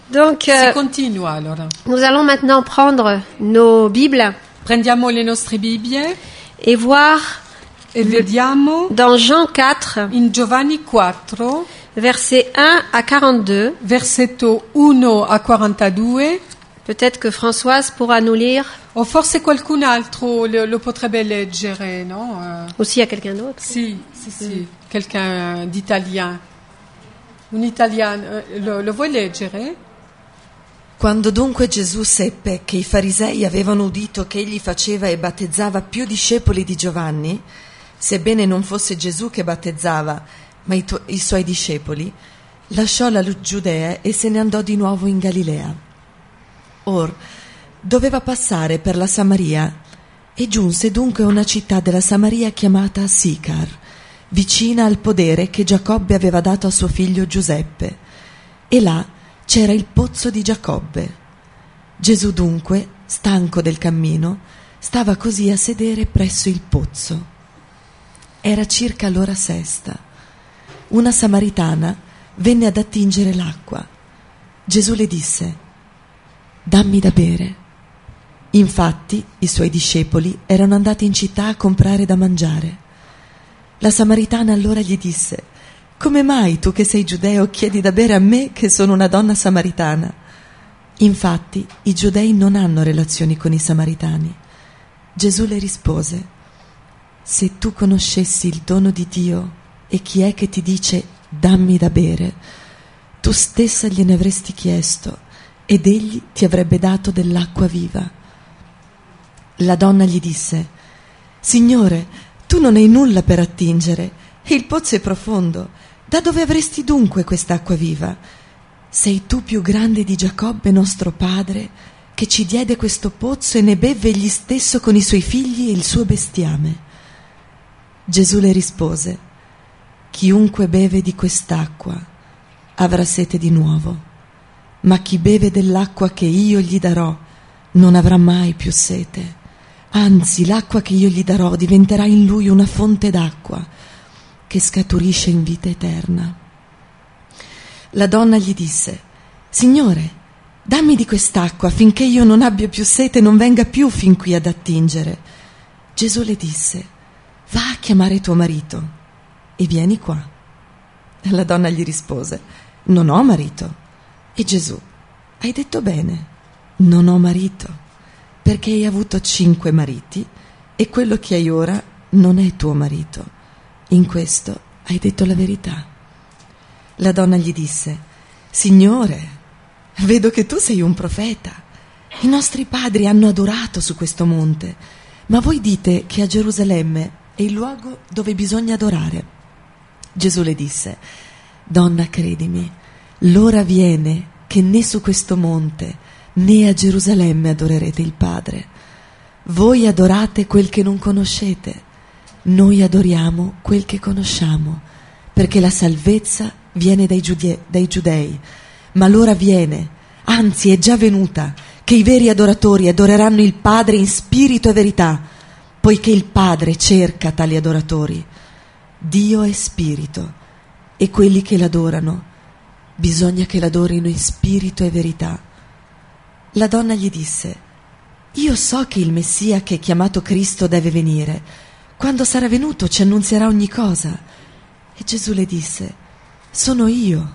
Donc, Si continua allora. nous allons maintenant prendre nos Bibles Prendiamo le nostre Bibbie et voir e vediamo dans Jean 4, in Giovanni 4, versets 1 à 42. versetto 1 a 42, Peut-être que Françoise pourra nous lire, o forse qualcun altro lo potrebbe leggere, no? aussi à quelqu'un d'autre. Sì, quelqu'un d'italien. Un italiano, lo vuoi leggere? Quando dunque Gesù seppe che i farisei avevano udito che egli faceva e battezzava più discepoli di Giovanni, sebbene non fosse Gesù che battezzava, ma i suoi discepoli, lasciò la Giudea e se ne andò di nuovo in Galilea. Or doveva passare per la Samaria e giunse dunque a una città della Samaria chiamata Sicar, vicina al podere che Giacobbe aveva dato a suo figlio Giuseppe, e là c'era il pozzo di Giacobbe. Gesù dunque, stanco del cammino, stava così a sedere presso il pozzo. Era circa l'ora sesta. Una samaritana venne ad attingere l'acqua. Gesù le disse: «Dammi da bere». Infatti i suoi discepoli erano andati in città a comprare da mangiare. La samaritana allora gli disse: «Come mai tu che sei giudeo chiedi da bere a me che sono una donna samaritana?» Infatti i giudei non hanno relazioni con i samaritani. Gesù le rispose: «Se tu conoscessi il dono di Dio e chi è che ti dice dammi da bere, tu stessa gliene avresti chiesto ed egli ti avrebbe dato dell'acqua viva». La donna gli disse: «Signore, tu non hai nulla per attingere e il pozzo è profondo. Da dove avresti dunque quest'acqua viva? Sei tu più grande di Giacobbe nostro padre, che ci diede questo pozzo e ne bevve egli stesso con i suoi figli e il suo bestiame?» Gesù le rispose: «Chiunque beve di quest'acqua avrà sete di nuovo, ma chi beve dell'acqua che io gli darò non avrà mai più sete. Anzi, l'acqua che io gli darò diventerà in lui una fonte d'acqua che scaturisce in vita eterna». La donna gli disse: «Signore, dammi di quest'acqua finché io non abbia più sete e non venga più fin qui ad attingere». Gesù le disse: «Va a chiamare tuo marito e vieni qua». La donna gli rispose: «Non ho marito». E Gesù: «Hai detto bene, non ho marito, perché hai avuto 5 mariti e quello che hai ora non è tuo marito. In questo hai detto la verità». La donna gli disse: «Signore, vedo che tu sei un profeta. I nostri padri hanno adorato su questo monte, ma voi dite che a Gerusalemme è il luogo dove bisogna adorare». Gesù le disse: «Donna, credimi, l'ora viene che né su questo monte né a Gerusalemme adorerete il Padre. Voi adorate quel che non conoscete, noi adoriamo quel che conosciamo, perché la salvezza viene dai giudei, ma l'ora viene, anzi è già venuta, che i veri adoratori adoreranno il Padre in spirito e verità, poiché il Padre cerca tali adoratori. Dio è spirito, e quelli che l'adorano bisogna che l'adorino in spirito e verità». La donna gli disse: «Io so che il Messia, che è chiamato Cristo, deve venire. Quando sarà venuto ci annunzierà ogni cosa». E Gesù le disse: «Sono io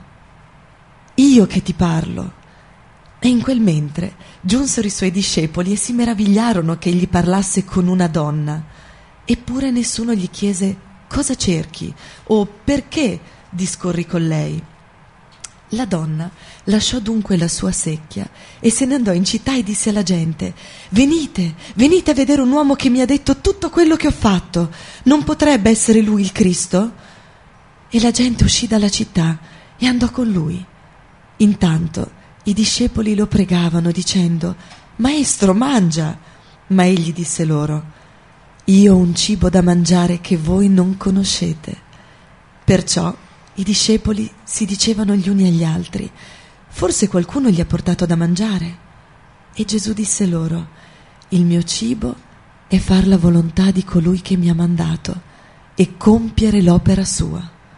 che ti parlo». E in quel mentre giunsero i suoi discepoli e si meravigliarono che egli parlasse con una donna. Eppure nessuno gli chiese: «Cosa cerchi?» o «Perché discorri con lei?» La donna lasciò dunque la sua secchia e se ne andò in città e disse alla gente: «Venite, venite a vedere un uomo che mi ha detto tutto quello che ho fatto. Non potrebbe essere lui il Cristo?» E la gente uscì dalla città e andò con lui. Intanto i discepoli lo pregavano dicendo: «Maestro, mangia!» Ma egli disse loro: «Io ho un cibo da mangiare che voi non conoscete». Perciò i discepoli si dicevano gli uni agli altri: «Forse qualcuno gli ha portato da mangiare». E Gesù disse loro: «Il mio cibo è far la volontà di colui che mi ha mandato e compiere l'opera sua».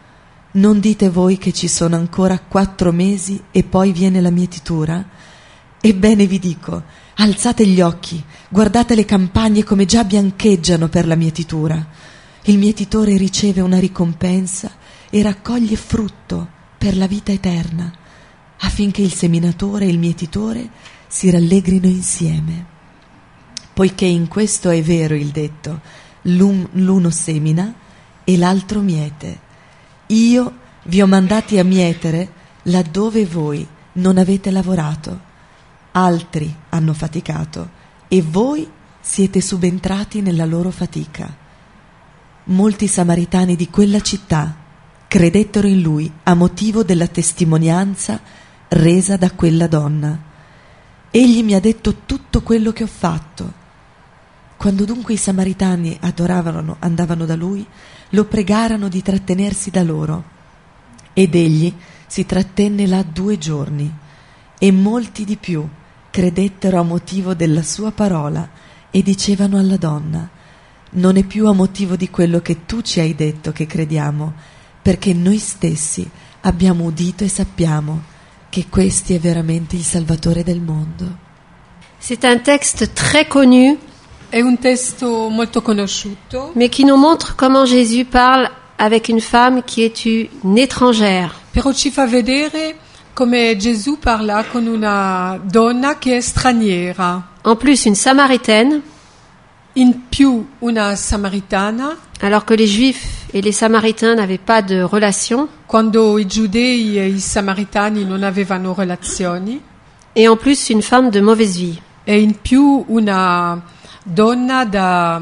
Non dite voi che ci sono ancora 4 mesi e poi viene la mietitura? Ebbene vi dico, alzate gli occhi, guardate le campagne come già biancheggiano per la mietitura. Il mietitore riceve una ricompensa e raccoglie frutto per la vita eterna, affinché il seminatore e il mietitore si rallegrino insieme. Poiché in questo è vero il detto, l'uno semina e l'altro miete. Io vi ho mandati a mietere laddove voi non avete lavorato. Altri hanno faticato e voi siete subentrati nella loro fatica. Molti samaritani di quella città credettero in lui a motivo della testimonianza resa da quella donna. Egli mi ha detto tutto quello che ho fatto. Quando dunque i samaritani andavano da lui, lo pregarono di trattenersi da loro. Ed egli si trattenne là 2 giorni, e molti di più credettero a motivo della sua parola e dicevano alla donna: non è più a motivo di quello che tu ci hai detto che crediamo, perché noi stessi abbiamo udito e sappiamo che questi è veramente il Salvatore del mondo. C'est un texte très connu, È un testo molto conosciuto, mais qui nous montre comment Jésus parle avec une femme qui est une étrangère. però ci fa vedere come Gesù parla con una donna che è straniera, En plus, une samaritaine, in più una samaritana, alors que les Juifs et les Samaritains n'avaient pas de relation. quando i giudei e i samaritani non avevano relazioni, Et en plus, une femme de mauvaise vie. e in più una donna da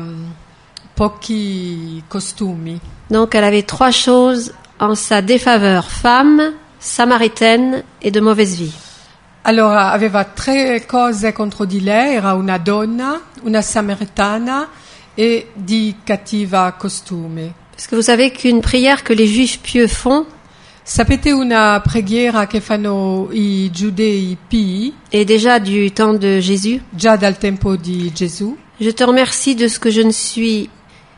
pochi costumi. Donc, elle avait 3 choses en sa défaveur: femme, samaritaine et de mauvaise vie. Allora aveva 3 cose contro di lei: era una donna, una samaritana e di cattiva costume. Parce que vous savez qu'une prière que les Juifs pieux font Sapete una preghiera che fanno i giudei pii est déjà du temps de Jésus. già dal tempo di Gesù? Je te remercie de ce que je ne suis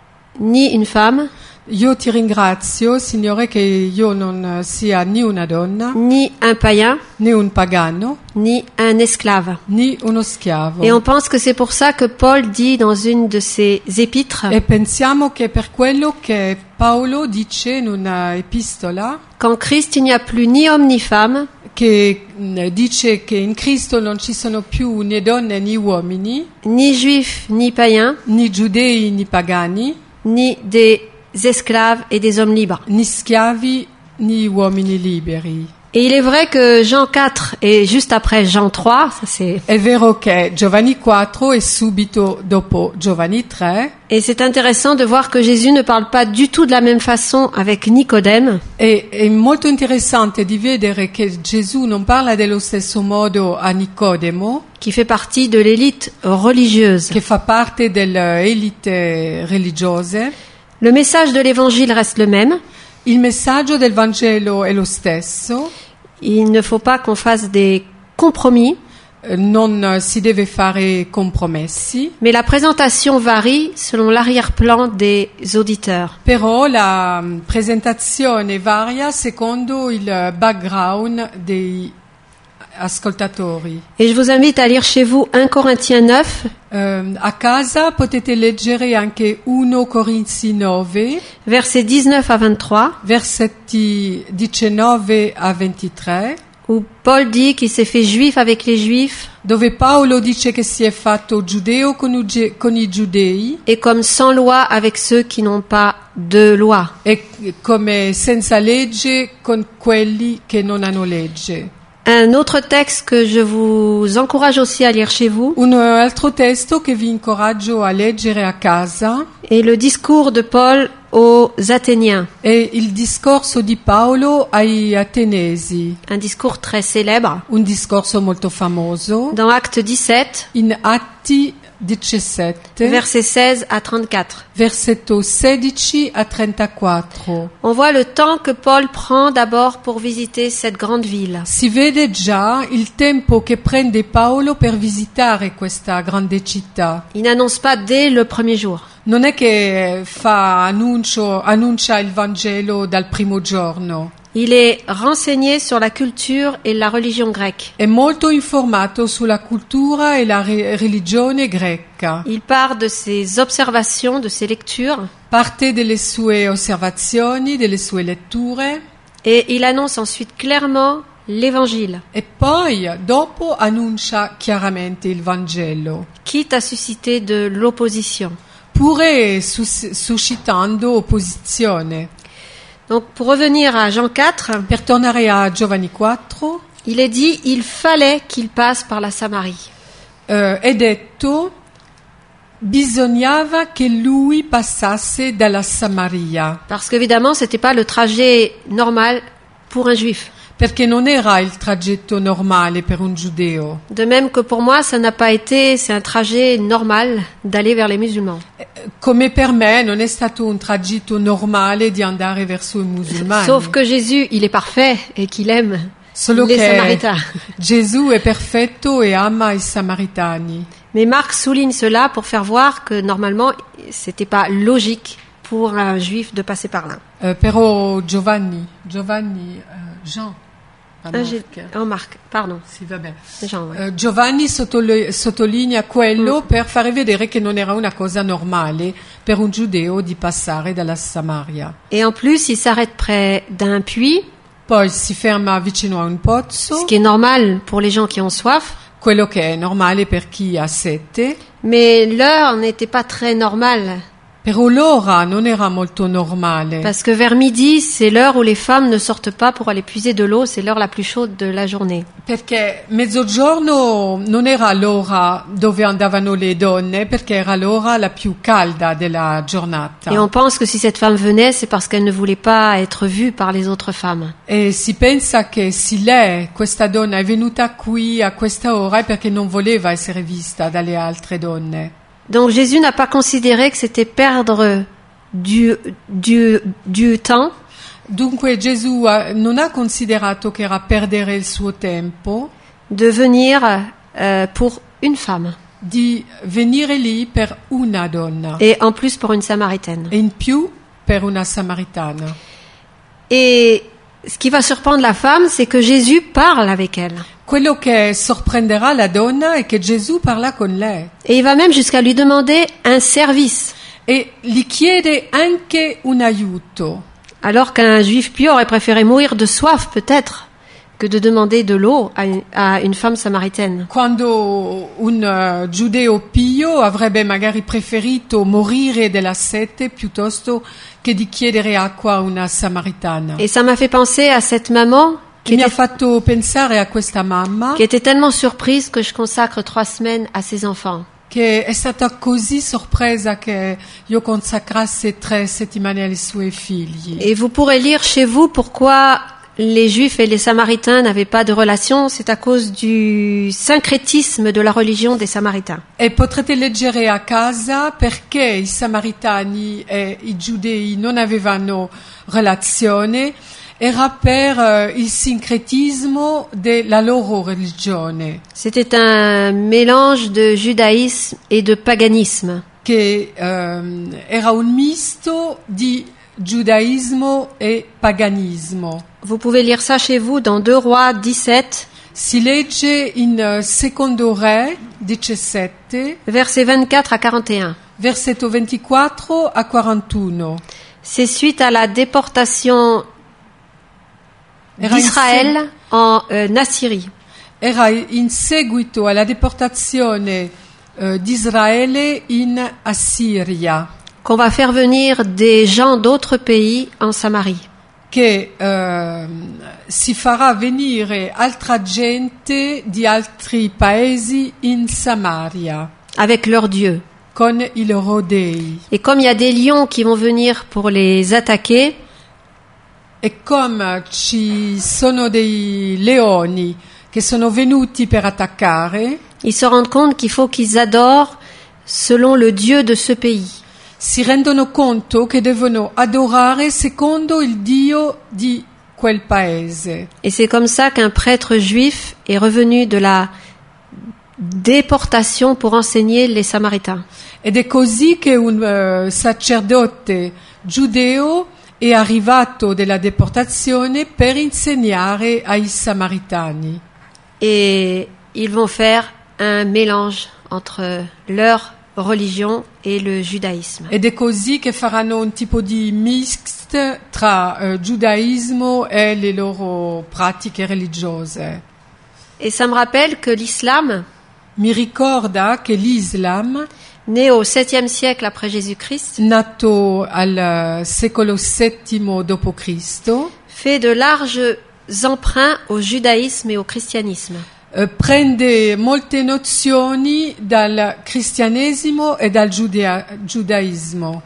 ni une femme, Io ti ringrazio, Signore, che io non sia né una donna, ni un païen, né un pagano, ni un esclave. né uno schiavo. Et on pense que c'est pour ça que Paul dit dans une de ses épîtres, E pensiamo che per quello che Paolo dice in una epistola, qu'en Christ il n'y a plus ni homme ni femme, che dice che in Cristo non ci sono più né donne né uomini, ni juifs ni païens, né giudei né pagani, ni des esclaves et des hommes libres. né schiavi né uomini liberi. Et il est vrai que Jean 4 et juste après Jean 3, ça c'est, È vero che Giovanni 4 e subito dopo Giovanni 3, et c'est intéressant de voir que Jésus ne parle pas du tout de la même façon avec Nicodème, è molto interessante di vedere che Gesù non parla dello stesso modo a Nicodemo, qui fait partie de l'élite religieuse. che fa parte delle elite religiose. Le message de l'évangile reste le même. Il messaggio del Vangelo è lo stesso, Il ne faut pas qu'on fasse des compromis, non si deve fare compromessi, mais la présentation varie selon l'arrière-plan des auditeurs. però la presentazione varia secondo il background dei ascoltatori. Et je vous invite à lire chez vous 1 Corinthiens 9, A casa potete leggere anche 1 Corinzi 9, versets 19 à 23, versetti 19 a 23, où Paul dit qu'il s'est fait juif avec les juifs dove Paolo dice che si è fatto giudeo con i giudei et comme sans loi avec ceux qui n'ont pas de loi. e come senza legge con quelli che non hanno legge. Un autre texte que je vous encourage aussi à lire chez vous Un altro testo che vi incoraggio a leggere a casa est le discours de Paul aux Athéniens, è il discorso di Paolo ai Atenesi, un discours très célèbre. un discorso molto famoso, Dans Actes 17, in Atti 17, versets 16 à 34. versetto 16 a 34. On voit le temps que Paul prend d'abord pour visiter cette grande ville. Si vede già il tempo che prende Paolo per visitare questa grande città. Il n'annonce pas dès le premier jour. non è che annuncia il Vangelo dal primo giorno. Il est renseigné sur la culture et la religion grecque. È molto informato sulla cultura e la religione greca. Il part de ses observations, de ses lectures, Parte delle sue osservazioni, delle sue letture et il annonce ensuite clairement l'évangile, e poi dopo annuncia chiaramente il Vangelo, quitte à susciter de l'opposition. pure suscitando opposizione. Donc pour revenir à Jean 4, Per tornare a Giovanni 4, il est dit il fallait qu'il passe par la Samarie. è detto bisognava che lui passasse dalla Samaria, Parce qu'évidemment, c'était pas le trajet normal pour un juif. perché non era il tragitto normale per un giudeo. De même que pour moi, ça n'a pas été, c'est un trajet normal d'aller vers les musulmans. Come per me non è stato un tragitto normale di andare verso i musulmani. Sauf que Jésus, il est parfait et qu'il aime Solo les che Samaritains. Gesù è perfetto e ama i Samaritani. Mais Marc souligne cela pour faire voir que normalement, c'était pas logique pour un juif de passer par là. Però Jean, pas Marc, pardon. Sì, vabbè. Jean, ouais. Giovanni sottolinea quello per fare vedere che non era una cosa normale per un giudeo di passare dalla Samaria. Et en plus, il s'arrête près d'un puits, Poi si ferma vicino a un pozzo, ce qui est normal pour les gens qui ont soif. quello che è normale per chi ha sete, Mais l'heure n'était pas très normale, però l'ora non era molto normale. parce que vers midi, c'est l'heure où les femmes ne sortent pas pour aller puiser de l'eau, c'est l'heure la plus chaude de la journée. Perché mezzogiorno non era l'ora dove andavano le donne, perché era l'ora la più calda della giornata. Et on pense que si cette femme venait, c'est parce qu'elle ne voulait pas être vue par les autres femmes. E si pensa che se lei, questa donna, è venuta qui a questa ora è perché non voleva essere vista dalle altre donne. Donc Jésus n'a pas considéré que c'était perdre du temps, Dunque Gesù non ha considerato che era perdere il suo tempo de venir pour une femme, di venire lì per una donna et en plus pour une Samaritaine. e in più per una samaritana. Et ce qui va surprendre la femme, c'est que Jésus parle avec elle. Quello che sorprenderà la donna è che Gesù parla con lei Et il va même jusqu'à lui demander un service, e gli chiede anche un aiuto, alors qu'un juif pieux aurait préféré mourir de soif peut-être que de demander de l'eau à une femme samaritaine. quando un giudeo pio avrebbe magari preferito morire della sete piuttosto che di chiedere acqua a una samaritana. Et ça m'a fait penser à cette maman E mi ha fatto pensare a questa mamma qui était tellement surprise que je consacre 3 semaines à ses enfants. che è stata così sorpresa che io consacrasse 3 settimane ai suoi figli. Et vous pourrez lire chez vous pourquoi les Juifs et les Samaritains n'avaient pas de relation. C'est à cause du syncrétisme de la religion des Samaritains. E potrete leggere a casa perché i samaritani e i giudei non avevano relazione. Era per il sincretismo della loro religione, C'était un mélange de judaïsme et de paganisme. che era un misto di giudaismo e paganismo. Vous pouvez lire ça chez vous dans 2 Rois 17, Si legge in Secondo Re 17, versets 24 à 41. versetto 24 a 41. C'est suite à la déportation Era d'Israël en Assyrie. Era in seguito alla deportazione di Israele in Assiria, Qu'on va faire venir des gens d'autres pays en Samarie. che si farà venire altra gente di altri paesi in Samaria Avec leurs dieux. con i loro dei. Et comme il y a des lions qui vont venir pour les attaquer, E come ci sono dei leoni che sono venuti per attaccare, ils se rendent compte qu'il faut qu'ils adorent selon le Dieu de ce pays. si rendono conto che devono adorare secondo il Dio di quel paese. Et c'est comme ça qu'un prêtre juif est revenu de la déportation pour enseigner les Samaritains. Ed è così che un sacerdote giudeo è arrivato della deportazione per insegnare ai Samaritani. Et ils vont faire un mélange entre leur religion et le judaïsme. Ed è così che faranno un tipo di mix tra giudaismo e le loro pratiche religiose. Et ça me rappelle que l'islam, Mi ricorda che l'Islam, né au 7e siècle après Jésus-Christ, nato al secolo VII d.C., fait de larges emprunts au judaïsme et au christianisme. Prende molte nozioni dal cristianesimo e dal giudaismo.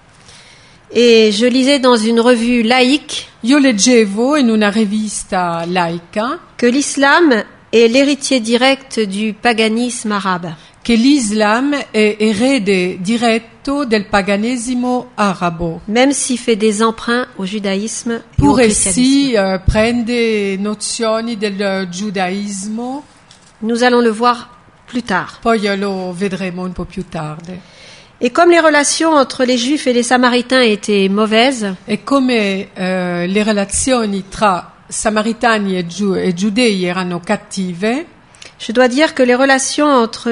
Et je lisais dans une revue laïque Io leggevo in una rivista laica que l'islam est l'héritier direct du paganisme arabe. che l'Islam è erede diretto del paganesimo arabo. Même s'il fait des emprunts au judaïsme et au Pure christianisme. si prende nozioni del giudaismo, Nous allons le voir plus tard. poi lo vedremo un po' più tardi. Et comme les relations entre les Juifs et les Samaritains étaient mauvaises, E come le relazioni tra samaritani e giudei erano cattive, je dois dire que les relations entre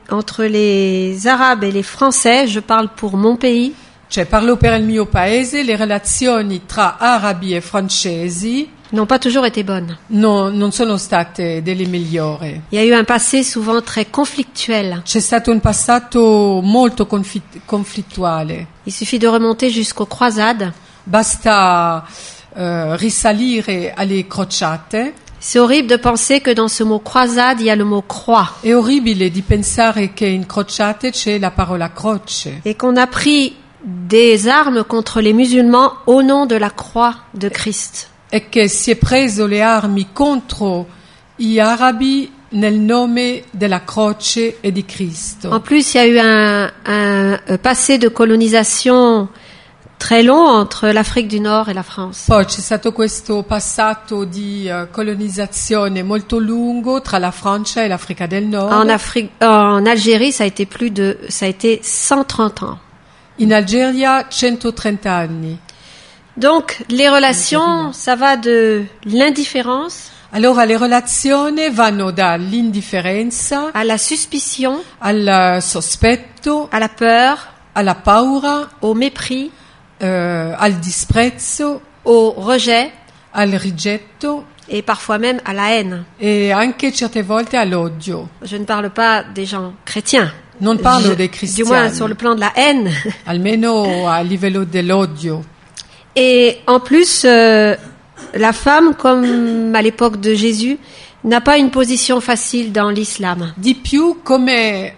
les Arabes et les Français, je parle pour mon pays, cioè parlo per il mio paese, le relazioni tra arabi e francesi n'ont pas toujours été bonnes. non sono state delle migliori. Il y a eu un passé souvent très conflictuel. C'è stato un passato molto conflittuale. Il suffit de remonter jusqu'aux croisades. Basta risalire alle crociate. C'est horrible de penser que dans ce mot croisade, il y a le mot croix. È orribile di pensare che in crociate c'è la parola croce Et qu'on a pris des armes contre les musulmans au nom de la croix de Christ. e che si è preso le armi contro gli arabi nel nome della croce e di Cristo. En plus, il y a eu un passé de colonisation très long entre l'Afrique du Nord et la France. Poi c'è stato questo passato di colonizzazione molto lungo tra la Francia e l'Africa del Nord. En Algérie, ça a été 130 ans. In Algeria 130 anni. Donc, les relations, ça va de l'indifférence Allora le relazioni vanno dall'indifferenza à la suspicion, al sospetto, à la peur, alla paura, au mépris, al disprezzo, au rejet al rigetto et parfois même à la haine. e anche certe volte all'odio. Je ne parle pas des gens chrétiens. Non parlo dei Du moins cristiani, sur le plan de la haine. almeno a livello dell'odio. Et en plus, la femme, comme à l'époque de Jésus, n'a pas une position facile dans l'islam. Di più come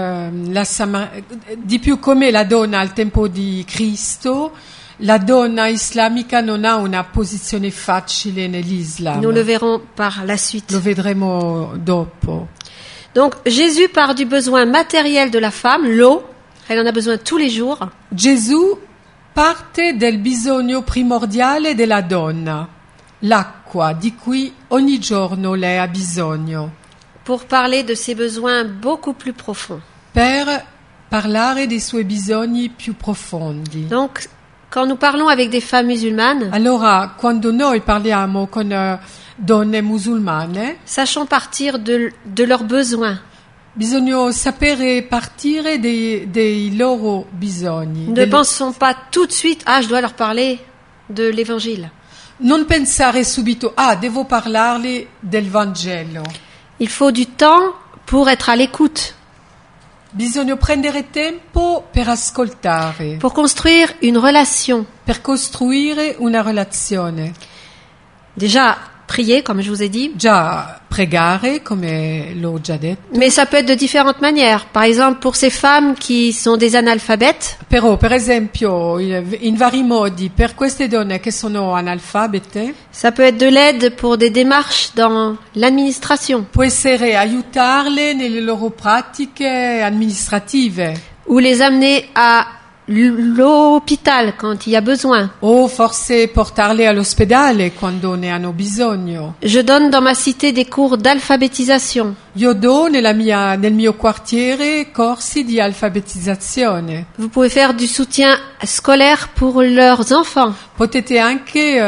la donna al tempo di Cristo, la donna islamica non ha una posizione facile nell'Islam. Nous le verrons par la suite. Lo vedremo dopo. Donc Jésus part du besoin matériel de la femme, l'eau. Elle en a besoin tous les jours. Gesù parte del bisogno primordiale della donna, l'acqua di cui ogni giorno lei ha bisogno, Pour parler de ses besoins beaucoup plus profonds. per parlare dei suoi bisogni più profondi. Donc, quand nous parlons avec des femmes musulmanes, Allora, quando noi parliamo con donne musulmane, sachons partir de leurs besoins. bisogna sapere partire dei loro bisogni. Ne pensons pas tout de suite, je dois leur parler de l'évangile. Non pensare subito, devo parlarle del Vangelo. Il faut du temps pour être à l'écoute, Bisogna prendere tempo per ascoltare, pour construire une relation. per costruire una relazione. Déjà, prier, comme je vous ai dit, Già pregare, come l'ho già detto, mais ça peut être de différentes manières. Par exemple, pour ces femmes qui sont des analphabètes, però per esempio in vari modi per queste donne che sono analfabete ça peut être de l'aide pour des démarches dans l'administration, può essere aiutarle nelle loro pratiche amministrative ou les amener à l'hôpital quand il y a besoin. o forse portarle all'ospedale quando ne hanno bisogno. Je donne dans ma cité des cours d'alphabétisation. Io do nel mio quartiere corsi di alfabetizzazione. Vous pouvez faire du soutien scolaire pour leurs enfants. Potete anche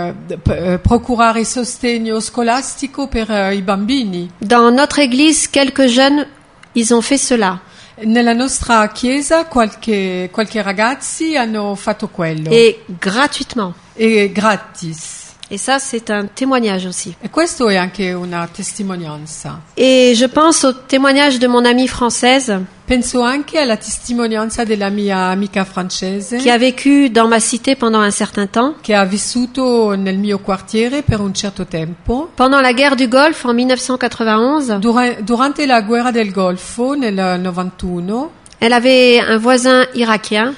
procurare sostegno scolastico per i bambini. Dans notre église, quelques jeunes, ils ont fait cela. Nella nostra chiesa qualche ragazzi hanno fatto quello. Et gratuitement. E gratis. Et ça, c'est un témoignage aussi. E questo è anche una testimonianza. Et je pense au témoignage de mon amie française Penso anche alla testimonianza della mia amica francese qui a vécu dans ma cité pendant un certain temps. che ha vissuto nel mio quartiere per un certo tempo. Pendant la guerre du Golfe en 1991, Durante la guerra del Golfo nel 91 elle avait un voisin irakien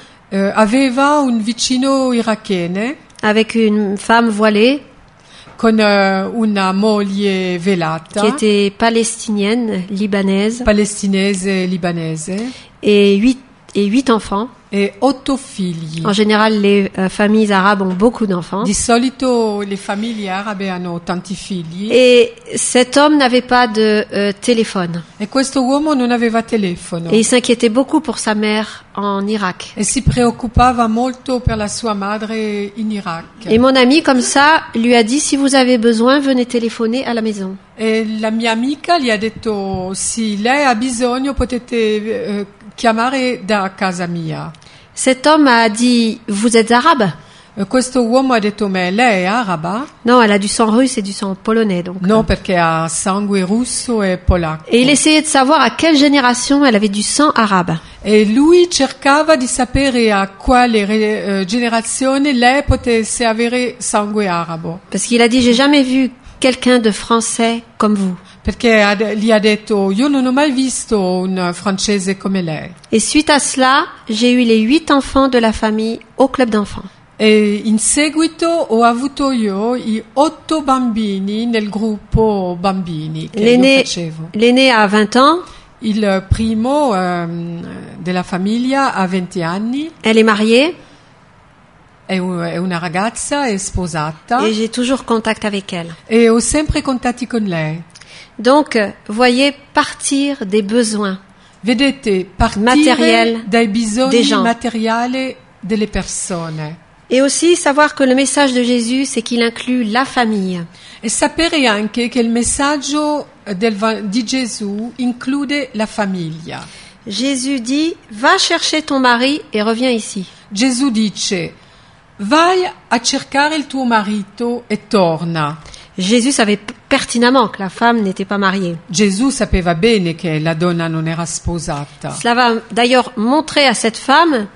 aveva un vicino irachene avec une femme voilée con una moglie velata, qui était palestinienne, libanaise, palestinese libanese et huit enfants. e 8 figli. En général, les familles arabes ont beaucoup d'enfants. Di solito le famiglie arabe hanno tanti figli Et cet homme n'avait pas de téléphone. e questo uomo non aveva telefono Et il s'inquiétait beaucoup pour sa mère en Irak. e si preoccupava molto per la sua madre in Iraq. Et mon ami, comme ça, lui a dit, si vous avez besoin, venez téléphoner à la maison. E la mia amica gli ha detto: sì, lei ha bisogno, potete chiamare da casa mia. Cet homme a dit, vous êtes arabe? Questo uomo ha detto: ma lei è araba? Non, elle a du sang russe et du sang polonais. Donc. No, perché ha sangue russo e polacco. Et il essayait de savoir à quelle génération elle avait du sang arabe. E lui cercava di sapere a quale generazione lei potesse avere sangue arabo. Parce qu'il a dit, j'ai jamais vu quelqu'un de français comme vous. Perché gli ha detto: io non ho mai visto un francese come lei. Et suite à cela, j'ai eu les 8 enfants de la famille au club d'enfants. E in seguito ho avuto io i 8 bambini nel gruppo bambini che io facevo. L'aîné a 20 ans. Il primo della famiglia ha 20 anni. Elle est mariée. È una ragazza, è sposata. Et j'ai toujours contact avec elle. E ho sempre contatti con lei. Donc, voyez, partir des besoins. Vedete, partire dai bisogni materiali delle persone. Et aussi savoir que le message de Jésus, c'est qu'il inclut la famille. E sapere anche che il messaggio di Gesù include la famiglia. Jésus dit, va chercher ton mari et reviens ici. Gesù dice, vai a cercare il tuo marito e torna. Jésus savait pertinemment que la femme n'était pas mariée. Gesù sapeva bene che la donna non era sposata. Cela va d'ailleurs montrer à cette femme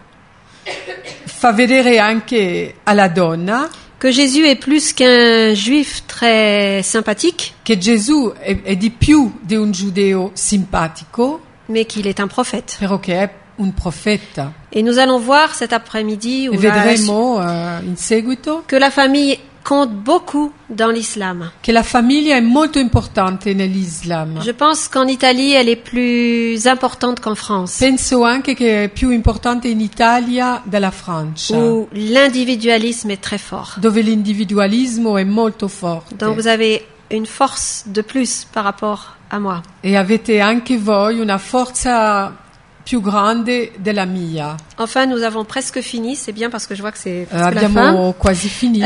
fa vedere anche alla donna que Jésus est plus qu'un juif très sympathique, che Gesù è di più di un giudeo simpatico, mais qu'il est un prophète. Però che è un profeta. Et nous allons voir cet après-midi e vedremo in seguito que la famille compte beaucoup dans l'islam. Che la famiglia è molto importante nell'Islam. Je pense qu'en Italie, elle est plus importante qu'en France. Penso anche che è più importante in Italia della Francia. Où l'individualisme est très fort. Dove l'individualismo è molto forte. Donc vous avez une force de plus par rapport à moi. E avete anche voi una forza più grande della mia. Enfin, nous avons presque fini. C'est bien parce que je vois que c'est presque la fin. Abbiamo quasi finito.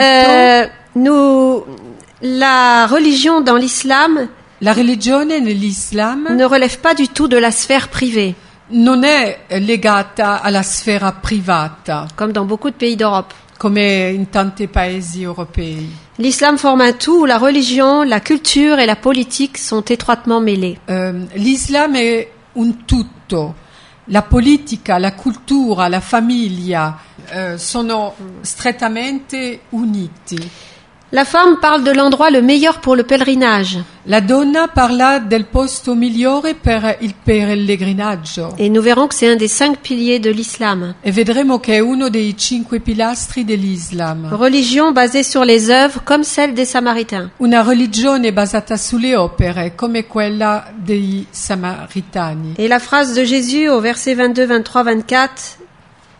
La religion dans l'islam, la religione nell'Islam ne relève pas du tout de la sphère privée. Non è legata alla sfera privata. Comme dans beaucoup de pays d'Europe. Come in tanti paesi europei. L'islam forme un tout où la religion, la culture et la politique sont étroitement mêlées. L'Islam è un tutto. La politica, la cultura, la famiglia sono strettamente uniti. La femme parle de l'endroit le meilleur pour le pèlerinage. La donna parla del posto migliore per il pellegrinaggio. Et nous verrons que c'est un des 5 piliers de l'islam. E vedremo che è uno dei 5 pilastri dell'Islam. Religion basée sur les œuvres comme celle des Samaritains. Una religione basata sulle opere come quella dei Samaritani. Et la phrase de Jésus au verset 22, 23, 24.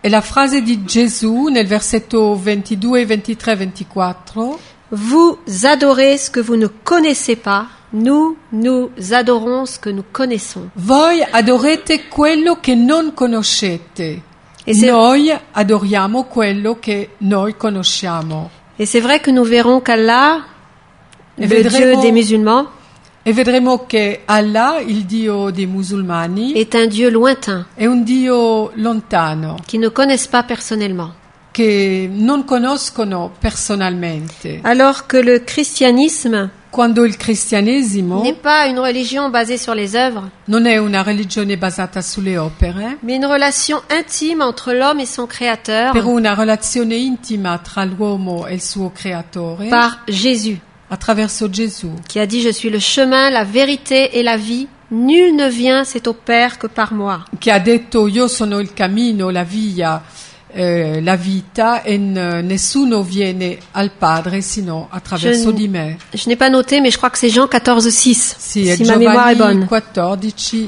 E la frase di Gesù nel versetto 22, 23, 24. Vous adorez ce que vous ne connaissez pas, nous adorons ce que nous connaissons. Voi adorate quello che non conoscete. E se- Noi adoriamo quello che noi conosciamo. Et c'est vrai que nous verrons qu'Allah, E le Dieu des musulmans, e vedremo che Allah, il Dio dei musulmani, est un Dieu lointain, è un Dio lontano, qui ne connaissent pas personnellement. che non conoscono personalmente. Alors que le christianisme Quando il cristianesimo n'est pas une religion basée sur les œuvres, non è una religione basata sulle opere, mais une relation intime entre l'homme et son créateur per una relazione intima tra l'uomo e il suo creatore, par Jésus, attraverso Gesù, qui a dit « Je suis le chemin, la vérité et la vie. Nul ne vient, c'est au Père que par moi. che ha detto io sono il cammino, la via, la vita e nessuno viene al Padre sino attraverso di me. » Je n'ai pas noté, mais je crois que c'est Jean 14,6, Sì, è si ma mémoire est Giovanni bonne. 14,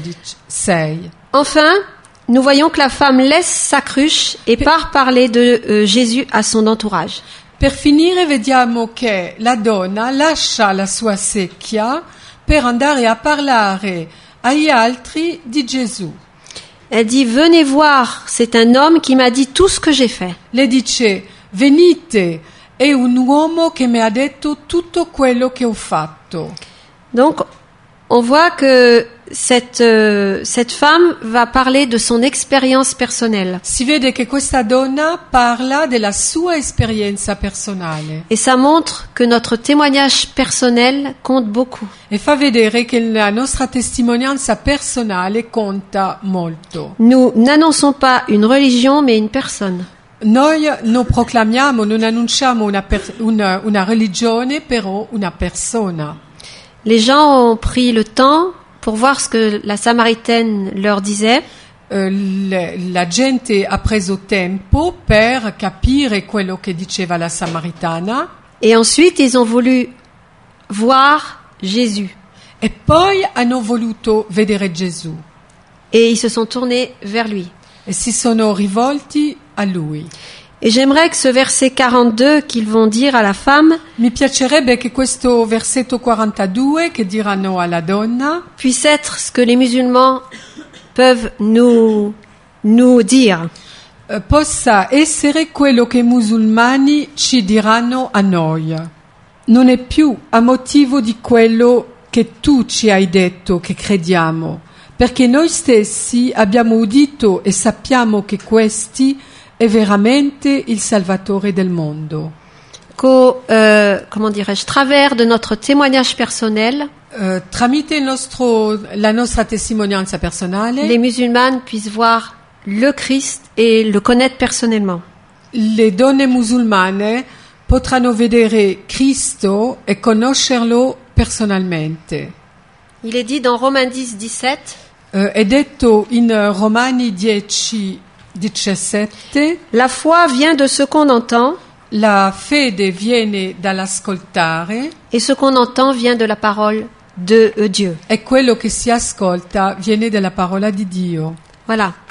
6. Enfin, nous voyons que la femme laisse sa cruche et part parler de Jésus à son entourage. Per finire vediamo che la donna lascia la sua secchia per andare a parlare agli altri di Gesù. Elle dit « Venez voir, c'est un homme qui m'a dit tout ce que j'ai fait. Le dice, venite, è un uomo che mi ha detto tutto quello che ho fatto. » Donc, on voit que cette femme va parler de son expérience personnelle. Si vede che questa donna parla della sua esperienza personale Et ça montre que notre témoignage personnel compte beaucoup. e fa vedere che la nostra testimonianza personale conta molto. Nous n'annonçons pas une religion, mais une personne. Noi non proclamiamo, non annunciamo una religione, però una persona. Les gens ont pris le temps pour voir ce que la Samaritaine leur disait. La gente ha preso tempo per capire quello che diceva la Samaritana Et ensuite, ils ont voulu voir Jésus. e poi hanno voluto vedere Gesù Et ils se sont tournés vers lui. e si sono rivolti a lui. Et j'aimerais que ce verset 42 qu'ils vont dire à la femme Mi piacerebbe che questo versetto 42 che diranno alla donna puisse être ce que les musulmans peuvent nous dire. Possa essere quello che i musulmani ci diranno a noi. Non è più a motivo di quello che tu ci hai detto che crediamo, perché noi stessi abbiamo udito e sappiamo che questi è veramente il Salvatore del mondo. Comment dirais-je, travers de notre témoignage personnel, Tramite la nostra testimonianza personale, les musulmanes puissent voir le Christ et le connaître personnellement. le donne musulmane potranno vedere Cristo e conoscerlo personalmente. Il est dit dans Romains 10, 17, È detto in Romani 10, 17, la foi vient de ce qu'on entend, la fede viene dall'ascoltare et ce qu'on entend vient de la parole de Dieu. e quello che si ascolta viene dalla parola di Dio. Voilà.